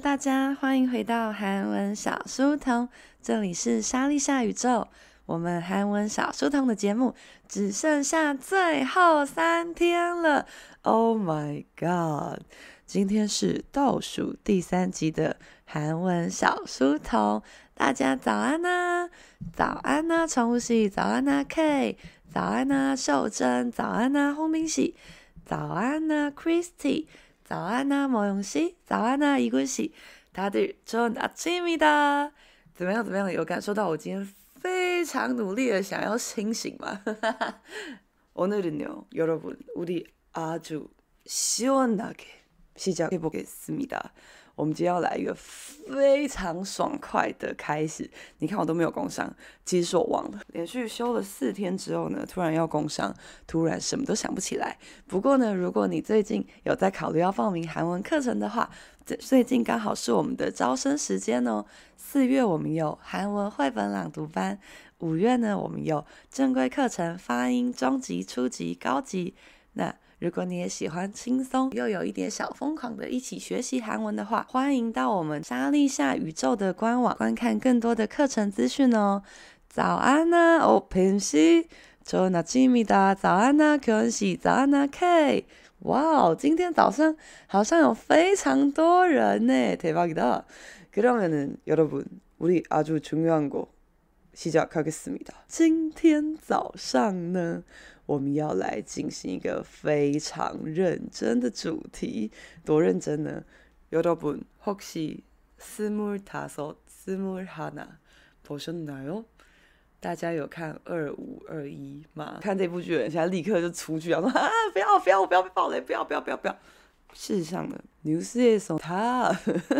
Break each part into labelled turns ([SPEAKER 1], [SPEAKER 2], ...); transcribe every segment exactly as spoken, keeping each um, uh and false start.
[SPEAKER 1] 大家歡迎回到韓文小書童，這裡是莎莉夏宇宙。我們韓文小書童的節目只剩下最後三天了 ，Oh my god！ 今天是倒數第三集的韓文小書童，大家早安啊！早安啊，寵物喜！早安啊，K！早安啊，秀珍！早安啊，홍빈 씨！早安啊，Christy！早安啊，모영 씨！早安啊，이군 씨！다들 좋은 아침입니다！怎麼樣？怎麼樣？有感受到我今天非常努力的想要清醒嗎？오늘은요, 여러분, 우리 아주 시원하게 시작해보겠습니다。我們今天要來一個非常爽快的開始。你看我都沒有工商，其實是我忘了。連續休了四天之後呢，突然要工商，突然什麼都想不起來。不過呢，如果你最近有在考慮要報名韓文課程的話，最近剛好是我們的招生時間哦。四月我們有韓文繪本朗讀班，五月呢我們有正規課程發音中級、初級、高級。那如果你也喜歡輕鬆又有一點小瘋狂的一起學習韓文的話，歡迎到我們莎莉夏宇宙的官網觀看更多的課程資訊哦。早安啊，오펜 씨，좋은 아침입니다。早安啊，교원 씨，早安啊，K。哇，今天早上好像有非常多人呢，대박이다。그러면은 여러분, 우리 아주 중요한 거 시작하겠습니다。今天早上呢，我們要來進行一個非常認真的主題，多認真呢？여러분 혹시 스물다섯, 스물하나 보셨나요？大家有看二五二一嗎？看這部劇的人現在立刻就出去啊，說啊不要不要不要被爆雷，不要不要不要不要！事實上呢，뉴스에서 다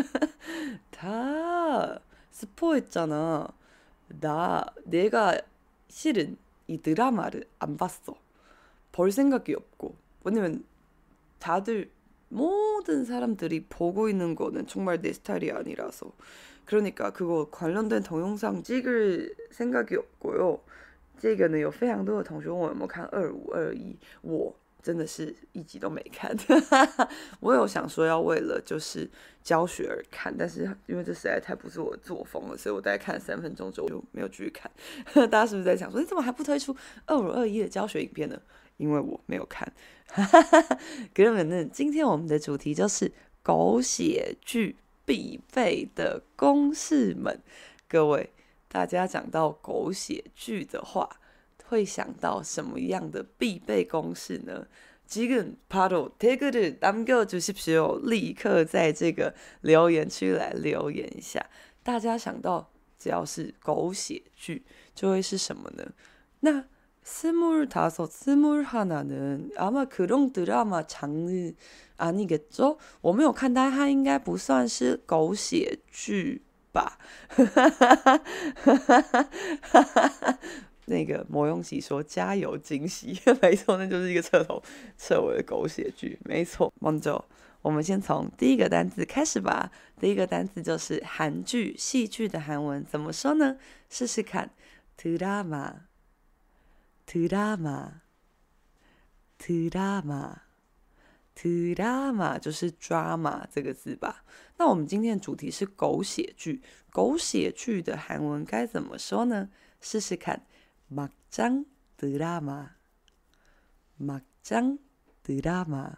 [SPEAKER 1] 다 스포했잖아。나 내가 실은 이 드라마를 안 봤어. 볼 생각이 없고. 왜냐면 다들 모든 사람들이 보고 있는 거는 정말 내 스타일이 아니라서. 그러니까 그거 관련된 동영상 찍을 생각이 없고요. 这個呢有非常多的同學問我有沒有看二五二一，我真的是一集都沒看。我有想說要為了就是教學而看，但是因為這實在太不是我的作風了，所以我大概看了三分鐘之後就沒有繼續看。大家是不是在想說你怎麼還不推出二五二一的教學影片呢？因為我沒有看。그러면은今天我們的主題就是狗血劇必備的公式們。各位，大家講到狗血劇的話，會想到什麼樣的必備公式呢？지금 바로 댓글을 남겨주십시오。立刻在這個留言區來留言一下，大家想到只要是狗血劇，就會是什麼呢？那스물다섯, 스물하나는 아마 그런 드라마 장르 아니겠죠？我沒有看它，它應該不算是狗血劇吧？那個魔用喜說加油驚喜，沒錯，那就是一個徹頭徹尾的狗血劇，沒錯。먼저我們先從第一個單字開始吧。第一個單字就是韓劇、戲劇的韓文怎麼說呢？試試看，드라마 드라마 드라마 드라마就是 drama 這個字吧。那我們今天的主題是狗血劇，狗血劇的韓文該怎麼說呢？試試看，막장 드라마 막장 드라마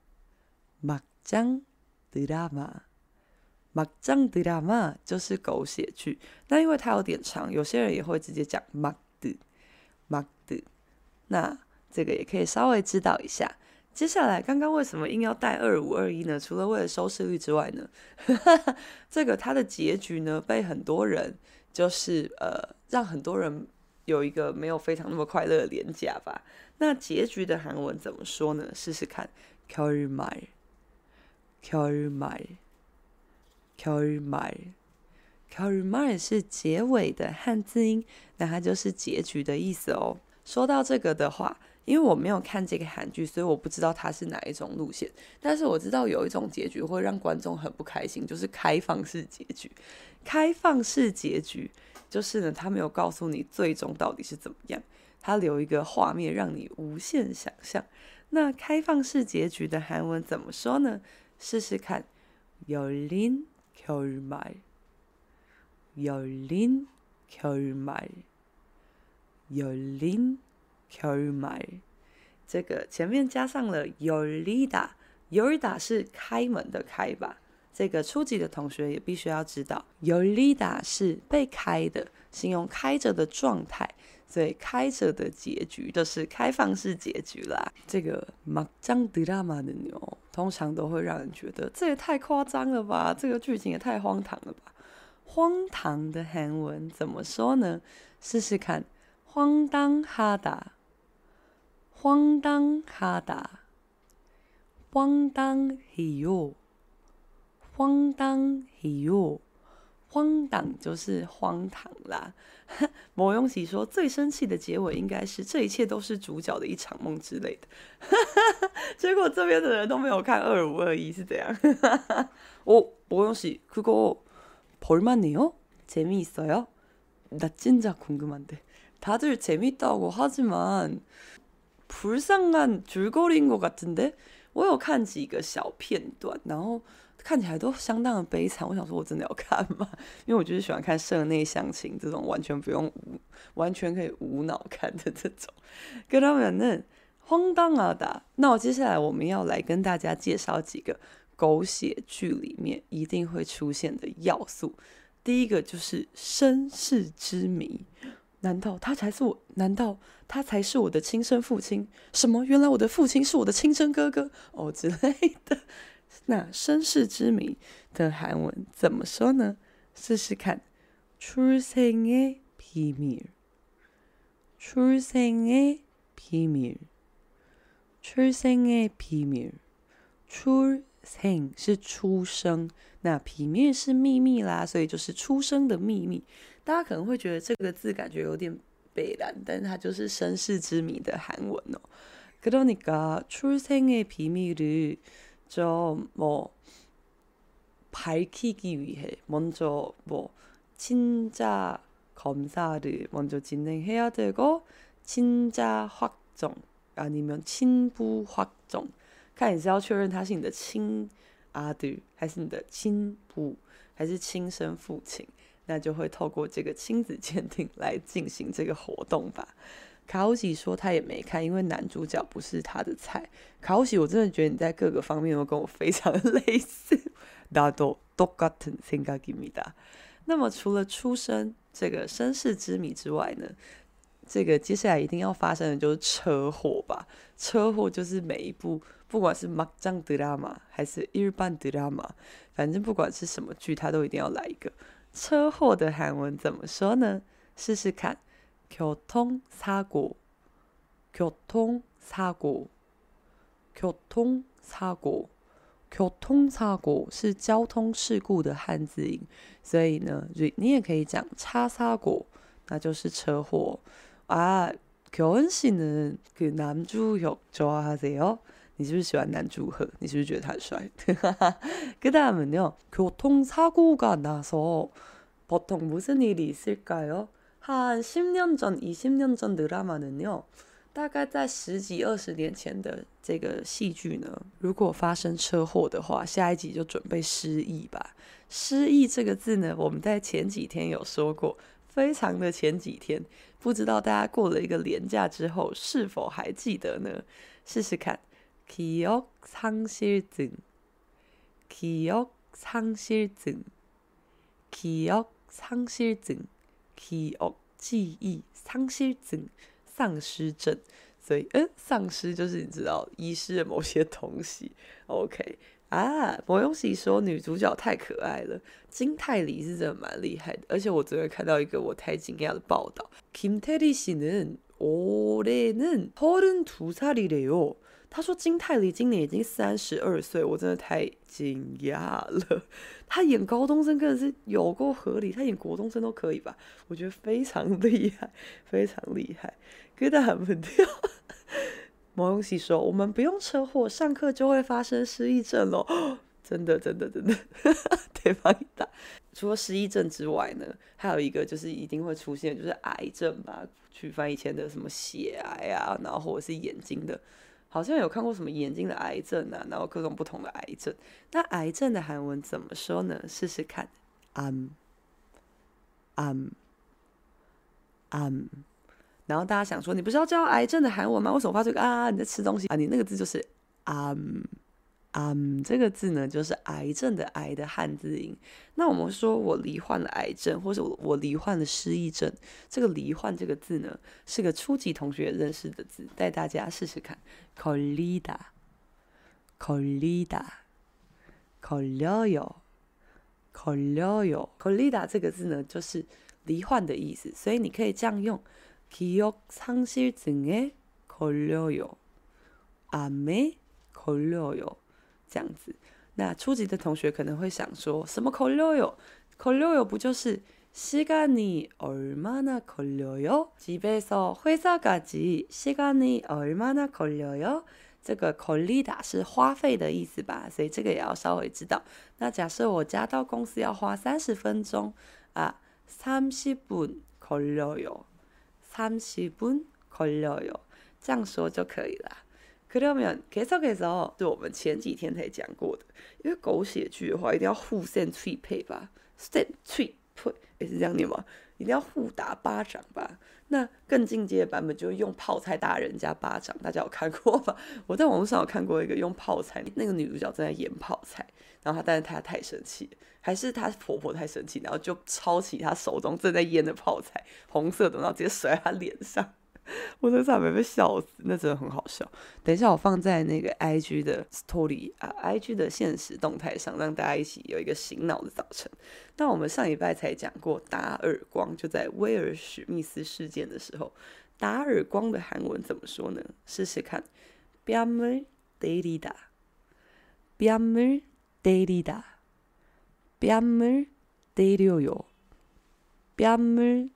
[SPEAKER 1] 막장 드라마 막장 드라마就是狗血劇。那因為它有點長，有些人也會直接講막드 막드，那這個也可以稍微知道一下。接下來，剛剛為什麼硬要帶二五二一呢？除了為了收視率之外呢，這個它的結局呢，被很多人就是呃，讓很多人有一個沒有非常那麼快樂的連假吧。那結局的韓文怎麼說呢？試試看，결말 결말 결말 결말是結尾的漢字音，那它就是結局的意思哦。說到這個的話，因為我沒有看這個韓劇，所以我不知道它是哪一種路線。但是我知道有一種結局會讓觀眾很不開心，就是開放式結局。開放式結局就是呢，他沒有告訴你最終到底是怎麼樣，他留一個畫面讓你無限想象。那開放式結局的韓文怎麼說呢？試試看，열린 겨울말 열린 겨울말 열린 겨울말這個前面加上了열리다，열리다是開門的開吧？這個初級的同學也必須要知道，열리다是被開的，形容開着的狀態，所以開着的結局就是開放式結局啦。這個막장 드라마는요，通常都會讓人覺得這也太誇張了吧，這個劇情也太荒唐了吧。荒唐的韓文怎麼說呢？試試看，황당하다，황당하다，황당해요，황당해요，荒唐就是荒唐啦。某用喜說最生氣的結尾應該是這一切都是主角的一場夢之類的。結果這邊的人都沒有看二五二一是怎樣？哦，某用喜그거 볼만해요? 재미있어요? 나 진짜 궁금한데. 다들 재밌다고 하지만 불쌍한 줄거리인 것 같은데? 我有看幾個小片段，然後看起來都相當的悲慘。我想說，我真的要看嗎？因為我就是喜歡看社內相親這種完全不用無、完全可以無腦看的這種。그러면은 황당하다。那我接下來我們要來跟大家介紹幾個狗血劇裡面一定會出現的要素。第一個就是身世之謎，難道他才是我？難道他才是我的親生父親？什麼？原來我的父親是我的親生哥哥哦之類的。那身世之謎的韓文怎麼說呢？試試看，출생의 비밀， 출생의 비밀， 출생의 비밀， 출생是出生，那비밀是秘密啦，所以就是出生的秘密。大家可能會覺得這個字感覺有點北爛，但是它就是身世之謎的韓文哦。그러니까 출생의 비밀을 좀 뭐 밝히기 위해 먼저 뭐 친자 검사를 먼저 진행해야 되고 친자 확정 아니면 친부 확정， 看你是要確認他是你的親아들還是你的親部還是親生父親，那就會透過這個親子鑑定來進行這個活動吧。卡歐喜說他也沒看，因為男主角不是他的菜。卡歐喜，我真的覺得你在各個方面都跟我非常類似。나도 똑같은 생각입니다。那麼除了出生這個身世之謎之外呢，這個接下來一定要發生的就是車禍吧。車禍就是每一部不管是막장 드라마還是일반 드라마，反正不管是什麼劇，它都一定要來一個車禍的韓文怎麼說呢？試試看。교통사고, 교통사고, 교통사고, 교통사고是交通事故的漢字音，所以呢，你也可以講차사고，那就是車禍啊。교은 씨는 그 남주혁 좋아하세요? 你是不是喜歡男主赫？你是不是覺得他很帥？그 다음은요, 교통사고가 나서 보통 무슨 일이 있을까요? 한十年전, 이십年전 드라마는요，大概在十幾二十年前的這個戲劇呢，如果發生車禍的話，下一集就準備失憶吧。失憶這個字呢，我們在前幾天有說過，非常的前幾天，不知道大家過了一個連假之後是否還記得呢？試試看，기억 상실증， 기억 상실증， 기억 상실증。記憶記憶喪失症喪失症，所以嗯，喪失就是你知道遺失了某些東西。OK 啊，某勇喜說女主角太可愛了，金泰梨是真的蠻厲害的，而且我昨天看到一個我太驚訝的報道，김태리 씨는 올해는 서른두 살이래요。他說金泰梨今年已經三十二歲，我真的太驚訝了。他演高中生真的是有夠合理，他演國中生都可以吧？我覺得非常厲害，非常厲害。可是他很不掉。毛永喜說：“我們不用車禍，上課就會發生失憶症咯。”真的，真的，真的，對方一打。除了失憶症之外呢，還有一個就是一定會出現，就是癌症吧，去翻以前的什麼血癌啊，然後或者是眼睛的。 好像有看過什麼眼睛的癌症啊，然後各種不同的癌症。那癌症的韓文怎麼說呢？試試看，암，암，암。然後大家想說，你不是要教癌症的韓文嗎？為什麼發出啊？你在吃東西啊？你那個字就是암。암這個字呢，就是癌症的癌的漢字音。那我們說我罹患了癌症，或者我罹患了失憶症，這個罹患這個字呢，是個初級同學認識的字，帶大家試試看。걸리다， 걸리다， 걸려요， 걸려요。 걸리다這個字呢，就是罹患的意思，所以你可以這樣用。기억상실증에 걸려요， 암에 걸려요。這樣子，那初級的同學可能會想說，什麼걸려요？걸려요不就是시간이 얼마나 걸려요？ 집에서 회사까지 시간이 얼마나 걸려요？ 這個걸리다是花費的意思吧，所以這個也要稍微知道。那假設我家到公司要花三十分鐘啊，삼십 분 걸려요， 삼십 분 걸려요， 這樣說就可以了。그러면 계속해서就我們前幾天才講過的，因為狗血劇的話一定要互扇脆配吧，扇脆配也是這樣念嗎？一定要互打巴掌吧。那更進階的版本就是用泡菜打人家巴掌，大家有看過嗎？我在網絡上有看過一個用泡菜，那個女主角正在演泡菜，然後她但是她太生氣，還是她婆婆太生氣，然後就抄起她手中正在醃的泡菜，紅色的，然後直接甩在她臉上。我在上面被笑死，那真的很好笑。等一下我放在那個 I G 的 story 啊 ，I G 的限時動態上，讓大家一起有一個醒腦的早晨。那我們上禮拜才講過打耳光，就在威爾史密斯事件的時候，打耳光的韓文怎麼說呢？試試看，뺨을 때리다， 뺨을 때리다， 뺨을 때려요， 뺨을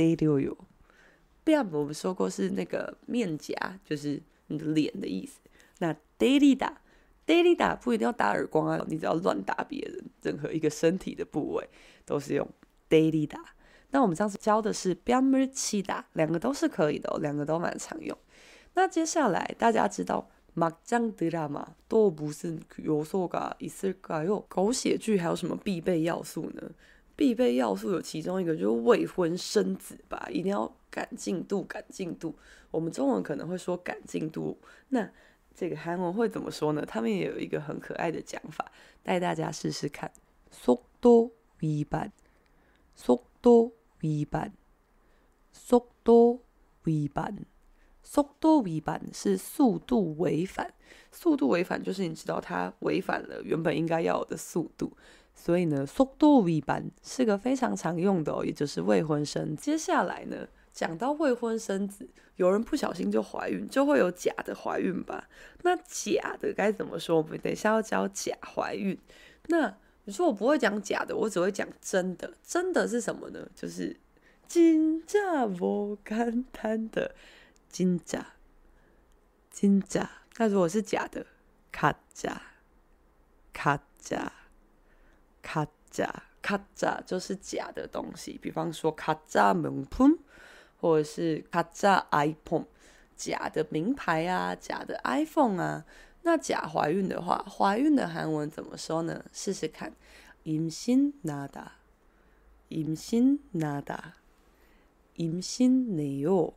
[SPEAKER 1] 때려요。뺨我們說過是那個面頰，就是你的臉的意思。那 때리다 때리다不一定要打耳光啊，你只要亂打別人，任何一個身體的部位都是用 때리다。那我們上次教的是뺨을 치다，兩個都是可以的哦，兩個都蠻常用。那接下來大家知道막장 드라마 또 무슨 요소가 있을까요？ 狗血劇還有什麼必備要素呢？必備要素有其中一個就是未婚生子吧，一定要趕進度，趕進度。我們中文可能會說趕進度，那這個韓文會怎麼說呢？他們也有一個很可愛的講法，帶大家試試看。속도 위반， 속도 위반， 속도 위반， 속도 위반是速度違反，速度違反就是你知道它違反了原本應該要有的速度。所以呢，속도 위반是個非常常用的哦，也就是未婚生子。接下來呢，講到未婚生子，有人不小心就懷孕，就會有假的懷孕吧？那假的該怎麼說？我們等一下要教假懷孕。那你說我不會講假的，我只會講真的。真的是什麼呢？就是진짜不簡單的진짜 진짜。那如果是假的，가짜 가짜。가짜 가짜就是假的東西，比方說가짜 명품或者是가짜 아이폰，假的名牌啊，假的 iPhone 啊。那假懷孕的話，懷孕的韓文怎麼說呢？試試看，임신나다， 임신나다， 임신내요，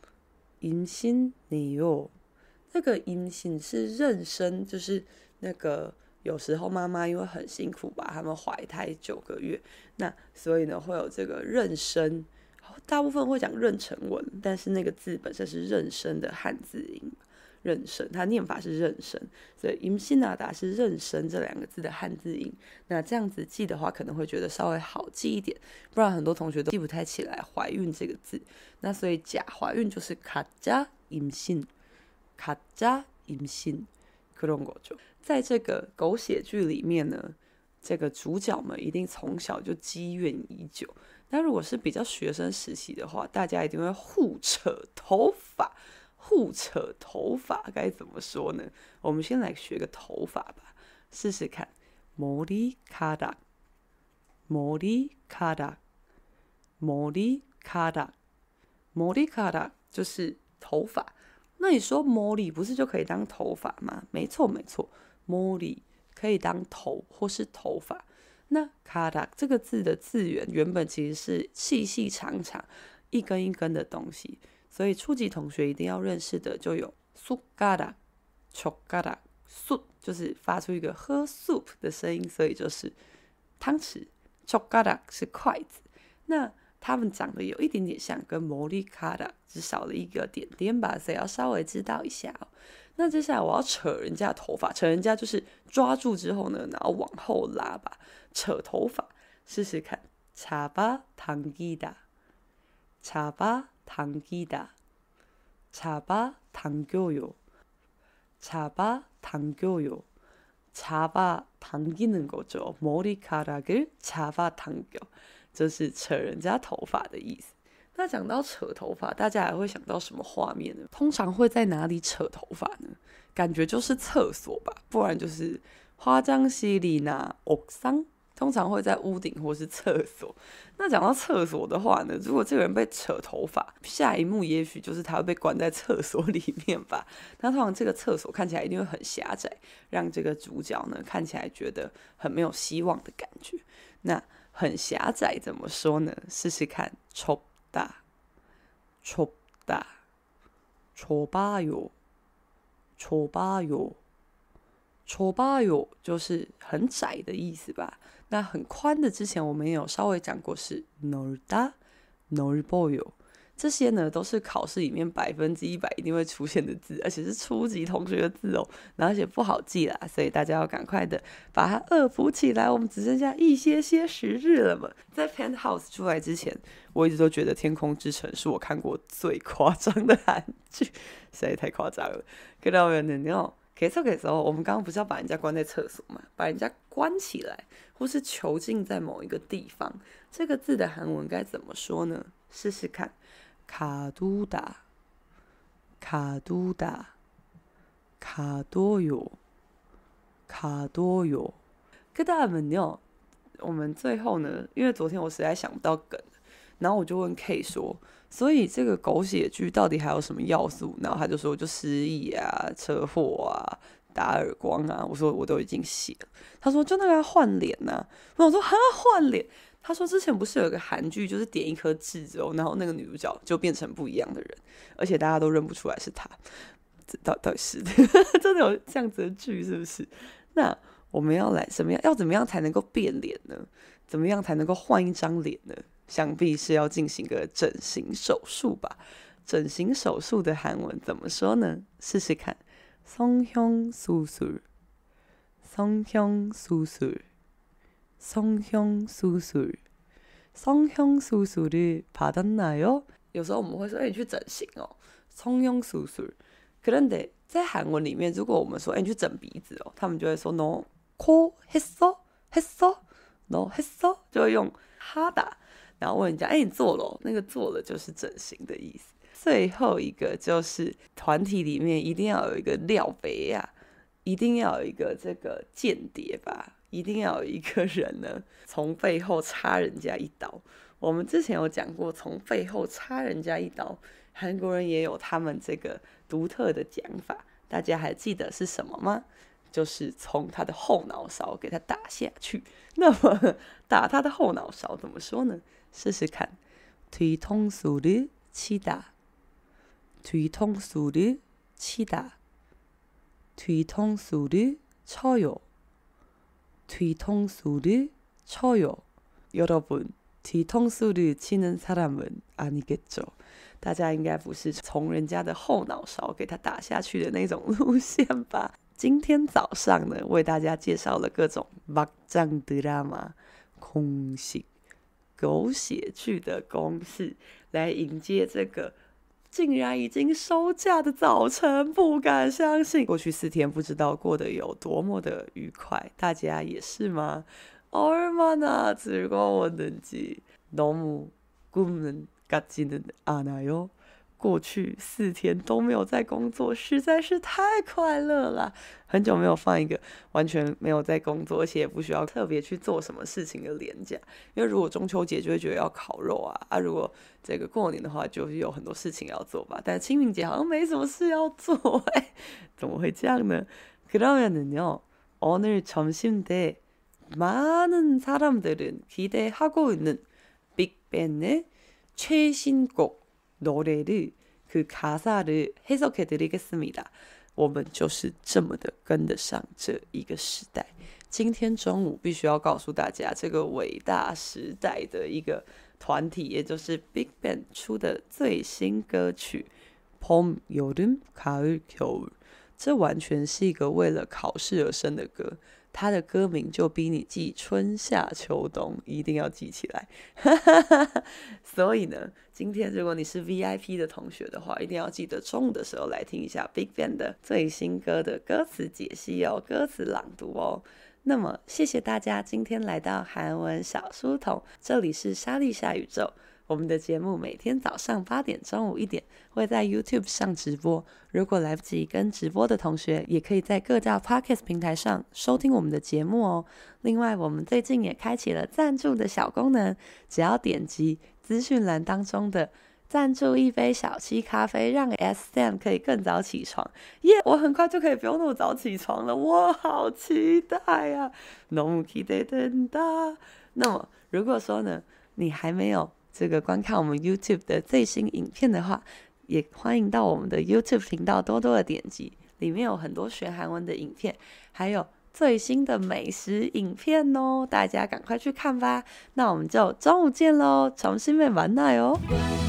[SPEAKER 1] 임신내요。這個임신是妊娠，就是那個。有時候媽媽因為很辛苦吧，他們懷胎九個月，那所以呢會有這個妊娠，大部分會講妊娠紋，但是那個字本身是妊娠的漢字音，妊娠，它念法是妊娠，所以임신하다是妊娠這兩個字的漢字音。那這樣子記的話，可能會覺得稍微好記一點，不然很多同學都記不太起來懷孕這個字。那所以假懷孕就是가짜 임신，가짜 임신。在這個狗血劇裡面呢，這個主角們一定從小就積怨已久。那如果是比較學生時期的話，大家一定會互扯頭髮，互扯頭髮該怎麼說呢？我們先來學個頭髮吧，試試看。머리카락，머리카락，머리카락，머리카락就是頭髮。 那你說머리不是就可以當頭髮嗎？沒錯沒錯，머리可以當頭或是頭髮。那가락這個字的字源原本其實是細細長長一根一根的東西，所以初級同學一定要認識的就有숟가락、젓가락、숟就是發出一個喝 soup 的聲音，所以就是湯匙。젓가락是筷子。那它們長得有一點點像，跟머리카락只少了一個點點吧，所以要稍微知道一下哦。那接下來我要扯人家的頭髮，扯人家就是抓住之後呢，然後往後拉吧，扯頭髮，試試看。잡아당기다， 잡아당기다， 잡아당겨요， 잡아당겨요， 잡아당기는 거죠。 머리카락을 잡아당겨。就是扯人家頭髮的意思。那講到扯頭髮，大家還會想到什麼畫面呢？通常會在哪裡扯頭髮呢？感覺就是廁所吧，不然就是화장실이나 옥상，通常會在屋頂或是廁所。那講到廁所的話呢，如果這個人被扯頭髮，下一幕也許就是他會被關在廁所裡面吧。那通常這個廁所看起來一定會很狹窄，讓這個主角呢看起來覺得很沒有希望的感覺。那很狹窄怎麼說呢？試試看，좁다， 좁다， 좁아요， 좁아요， 좁아요就是很窄的意思吧。那很寬的之前我們也有稍微講過是넓다， 넓어요。這些呢都是考試裡面百分之一百一定會出現的字，而且是初級同學的字哦，然後而且不好記啦，所以大家要趕快的把它惡補起來。我們只剩下一些些時日了嘛。在 Penthouse 出來之前，我一直都覺得《天空之城》是我看過最誇張的韓劇，實在太誇張了。그러면은요，계속해서我們剛剛不是要把人家關在廁所嘛，把人家關起來，或是囚禁在某一個地方，這個字的韓文該怎麼說呢？試試看。가두다, 가두다, 가둬요, 가둬요。그 다음은요，我們最後呢，因為昨天我實在想不到梗，然後我就問 K 說，所以這個狗血劇到底還有什麼要素？然後他就說，就失憶啊、車禍啊、打耳光啊。我說我都已經寫了。他說就那個要換臉吶。我想說哈換臉。他說之前不是有個韓劇，就是點一顆痣之後，然後那個女主角就變成不一樣的人，而且大家都認不出來是她。這到到底是真的有這樣子的劇是不是？那我們要來怎麼樣？要怎麼樣才能夠變臉呢？怎麼樣才能夠換一張臉呢？想必是要進行個整形手術吧。整形手術的韓文怎麼說呢？試試看。성형수술， 성형수술， 성형수술， 성형수술을 받았나요？ 有時候我們會說，哎、欸，你去整形哦，성형수술。그런데在韓文裡面，如果我們說，哎、欸，你去整鼻子哦，他們就會說，너 코 했어？ 했어？ 너 했어？ 就會用하다，然後問人家，哎、欸，你做了、哦？那個做了就是整形的意思。最後一個就是團體裡面一定要有一個廖北亞，一定要有一個這個間諜吧。一定要有一個人呢，從背後插人家一刀。我們之前有講過，從背後插人家一刀，韓國人也有他們這個獨特的講法。大家還記得是什麼嗎？就是從他的後腦勺給他打下去。那麼打他的後腦勺怎麼說呢？試試看。뒤통수를 치다， 뒤통수를 치다， 뒤통수를 쳐요。 뒤통수를 쳐요。 여러분， 뒤통수를 치는 사람은 아니겠죠？ 大家應該不是從人家的後腦勺給他打下去的那種路線吧？今天早上呢，為大家介紹了各種막장 드라마公式，狗血劇的公式，來迎接這個竟然已經收假的早晨，不敢相信。過去四天不知道過得有多麼的愉快，大家也是嗎？얼마나 즐거웠는지 너무 꿈은 같지는 않아요. 過去四天都沒有在工作，實在是太快樂了。很久沒有放一個完全沒有在工作，而且也不需要特別去做什麼事情的連假。因為如果中秋節就會覺得要烤肉啊，啊，如果這個過年的話，就是有很多事情要做吧。但清明節好像沒什麼事要做，哎，怎麼會這樣呢？그러면은요, 오늘 점심 때 많은 사람들은 기대하고 있는 빅뱅의 최신곡 노래를 그 가사를 해석해 드리겠습니다. 我們就是這麼的跟得上這一個時代。今天中午必須要告訴大家，這個偉大時代的一個團體，也就是 빅뱅 出的最新歌曲《봄, 여름, 가을, 겨울》，這完全是一個為了考試而生的歌。它的歌名就逼你記春夏秋冬，一定要記起來。所以呢，今天如果你是 V I P 的同學的話，一定要記得中午的時候來聽一下 빅뱅 的最新歌的歌詞解析哦，歌詞朗讀哦。那麼謝謝大家今天來到韓文小書童，這裡是莎莉夏宇宙。我們的節目每天早上八點、中午一點會在 YouTube 上直播。如果來不及跟直播的同學，也可以在各大 Podcast 平台上收聽我們的節目哦。另外，我們最近也開啟了贊助的小功能，只要點擊資訊欄當中的贊助一杯小七咖啡，讓 S Sam 可以更早起床。耶、yeah, ！我很快就可以不用那麼早起床了，我好期待啊！너무 기대된다。那麼，如果說呢，你還沒有這個觀看我們 YouTube 的最新影片的話，也歡迎到我們的 YouTube 頻道多多的點擊，裡面有很多學韓文的影片，還有最新的美食影片哦，大家趕快去看吧。那我們就中午見嘍，점심에 만나요。